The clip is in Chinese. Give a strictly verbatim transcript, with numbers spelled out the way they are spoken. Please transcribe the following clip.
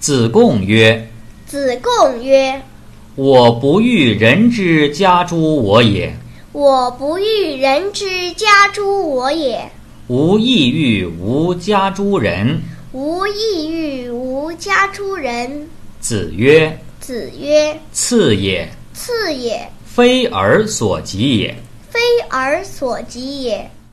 子贡曰： 子贡曰： 我不欲人之家诸我也， 我不欲人之家诸我也， 吾亦欲无家诸人。 吾亦欲无家诸人。 子曰： 子曰： 次也， 次也， 非尔所及也。 非尔所及也。